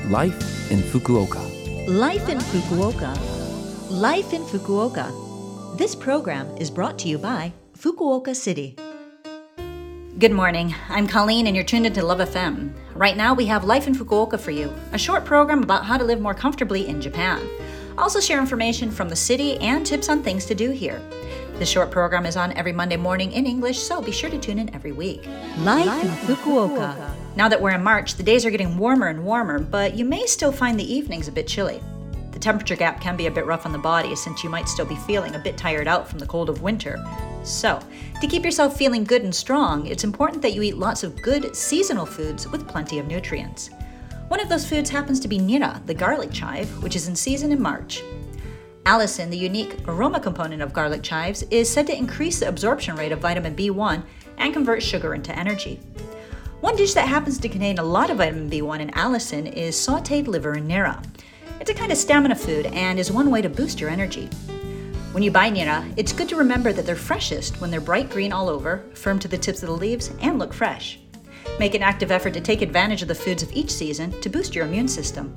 Life in Fukuoka. Life in Fukuoka. Life in Fukuoka. This program is brought to you by Fukuoka City. Good morning. I'm Colleen and you're tuned into Love FM. Right now we have Life in Fukuoka for you, a short program about how to live more comfortably in Japan. I'll also share information from the city and tips on things to do here. This short program is on every Monday morning in English, so be sure to tune in every week. Life in Fukuoka. Now that we're in March, the days are getting warmer and warmer, but you may still find the evenings a bit chilly. The temperature gap can be a bit rough on the body since you might still be feeling a bit tired out from the cold of winter. So, to keep yourself feeling good and strong, it's important that you eat lots of good seasonal foods with plenty of nutrients. One of those foods happens to be nira, the garlic chive, which is in season in March. Allicin, the unique aroma component of garlic chives, is said to increase the absorption rate of vitamin B1 and convert sugar into energy. One dish that happens to contain a lot of vitamin B1 and allicin is sautéed liver and nira. It's a kind of stamina food and is one way to boost your energy. When you buy nira, it's good to remember that they're freshest when they're bright green all over, firm to the tips of the leaves, and look fresh. Make an active effort to take advantage of the foods of each season to boost your immune system.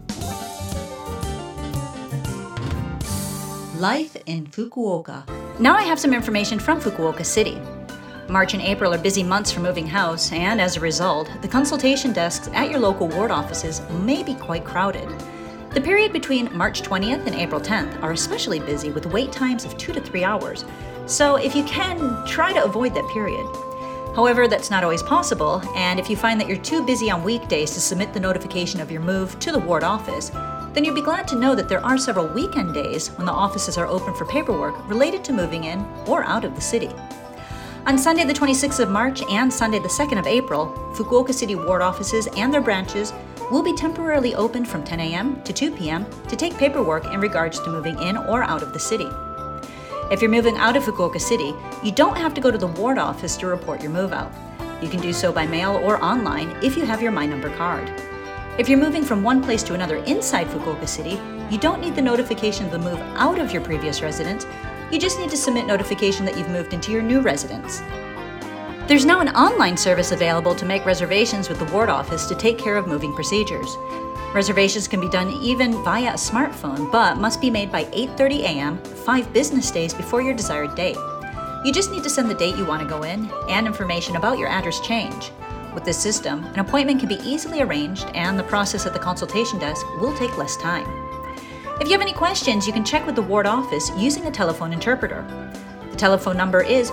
Life in Fukuoka. Now I have some information from Fukuoka City. March and April are busy months for moving house, and as a result, the consultation desks at your local ward offices may be quite crowded. The period between March 20th and April 10th are especially busy with wait times of 2 to 3 hours, so if you can, try to avoid that period. However, that's not always possible, and if you find that you're too busy on weekdays to submit the notification of your move to the ward office, then you'll be glad to know that there are several weekend days when the offices are open for paperwork related to moving in or out of the city. On Sunday the 26th of March and Sunday the 2nd of April, Fukuoka City ward offices and their branches will be temporarily open from 10 a.m. to 2 p.m. to take paperwork in regards to moving in or out of the city. If you're moving out of Fukuoka City, you don't have to go to the ward office to report your move out. You can do so by mail or online if you have your My Number card. If you're moving from one place to another inside Fukuoka City, you don't need the notification of the move out of your previous residence. You just need to submit notification that you've moved into your new residence. There's now an online service available to make reservations with the ward office to take care of moving procedures. Reservations can be done even via a smartphone, but must be made by 8:30 a.m., 5 business days before your desired date. You just need to send the date you want to go in and information about your address change. With this system, an appointment can be easily arranged and the process at the consultation desk will take less time. If you have any questions, you can check with the ward office using a telephone interpreter. The telephone number is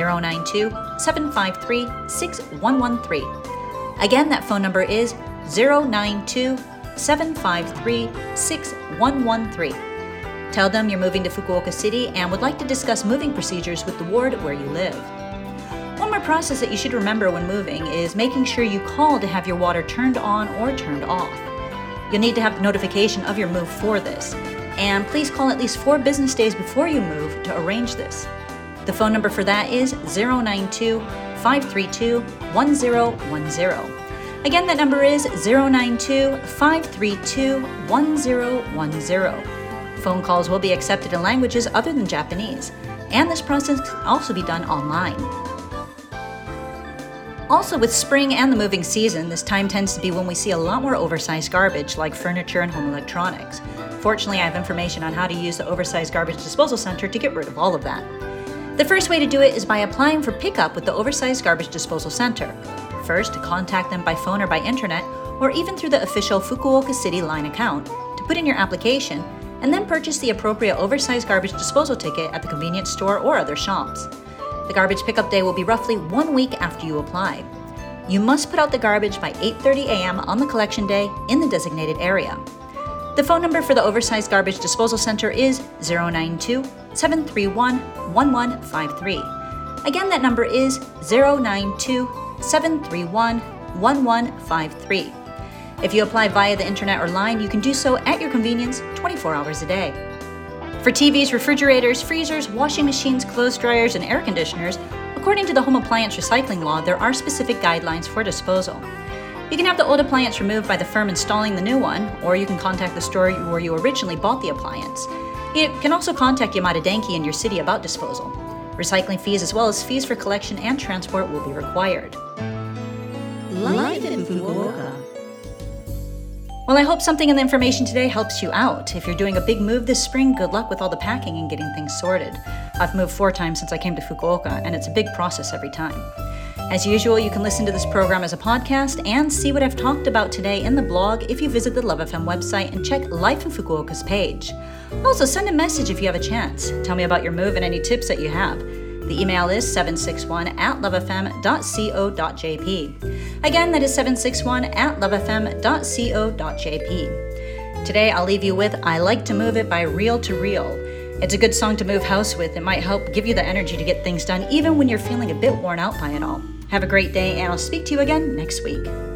092-753-6113. Again, that phone number is 092-753-6113. Tell them you're moving to Fukuoka City and would like to discuss moving procedures with the ward where you live. One more process that you should remember when moving is making sure you call to have your water turned on or turned off. You'll need to have the notification of your move for this, and please call at least 4 business days before you move to arrange this. The phone number for that is 092-532-1010. Again, that number is 092-532-1010. Phone calls will be accepted in languages other than Japanese, and this process can also be done online. Also, with spring and the moving season, this time tends to be when we see a lot more oversized garbage like furniture and home electronics. Fortunately, I have information on how to use the oversized garbage disposal center to get rid of all of that. The first way to do it is by applying for pickup with the oversized garbage disposal center. First, contact them by phone or by internet, or even through the official Fukuoka City Line account to put in your application, and then purchase the appropriate oversized garbage disposal ticket at the convenience store or other shops. The garbage pickup day will be roughly 1 week after you apply. You must put out the garbage by 8:30 a.m. on the collection day in the designated area. The phone number for the oversized garbage disposal center is 092-731-1153. Again, that number is 092-731-1153. If you apply via the internet or line, you can do so at your convenience 24 hours a day. For TVs, refrigerators, freezers, washing machines, clothes dryers, and air conditioners, according to the Home Appliance Recycling Law, there are specific guidelines for disposal. You can have the old appliance removed by the firm installing the new one, or you can contact the store where you originally bought the appliance. You can also contact Yamada Denki in your city about disposal. Recycling fees as well as fees for collection and transport will be required. Life in Fukuoka. Well, I hope something in the information today helps you out. If you're doing a big move this spring, good luck with all the packing and getting things sorted. I've moved 4 times since I came to Fukuoka, and it's a big process every time. As usual, you can listen to this program as a podcast and see what I've talked about today in the blog if you visit the Love FM website and check Life in Fukuoka's page. Also, send a message if you have a chance. Tell me about your move and any tips that you have. The email is 761@lovefm.co.jp. Again, that is 761@lovefm.co.jp. Today, I'll leave you with I Like to Move It by Real to Real. It's a good song to move house with. It might help give you the energy to get things done even when you're feeling a bit worn out by it all. Have a great day, and I'll speak to you again next week.